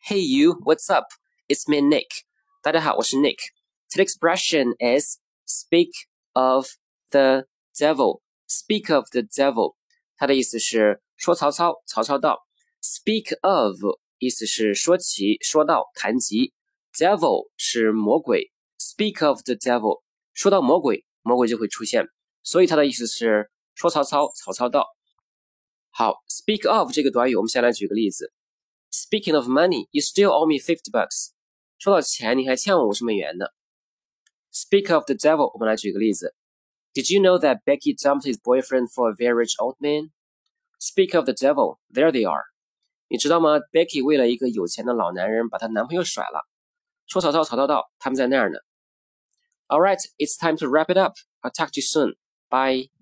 Hey you, what's up? It's me, Nick. 大家好，我是 Nick. Today's expression is speak of the devil. Speak of the devil. 它的意思是说曹操，曹操到。Speak of 意思是说起、说到、谈及。Devil 是魔鬼。Speak of the devil. 说到魔鬼，魔鬼就会出现。所以它的意思是说曹操，曹操到。好 ，speak of 这个短语，我们先来举个例子。Speaking of money, you still owe me $50. 说到钱，你还欠我$50呢。Speak of the devil, 我们来举个例子。Did you know that Becky dumped his boyfriend for a very rich old man? Speak of the devil, there they are. 你知道吗 ？Becky 为了一个有钱的老男人，把她男朋友甩了。说曹操，曹操到，他们在那儿呢。All right, it's time to wrap it up. I'll talk to you soon. Bye.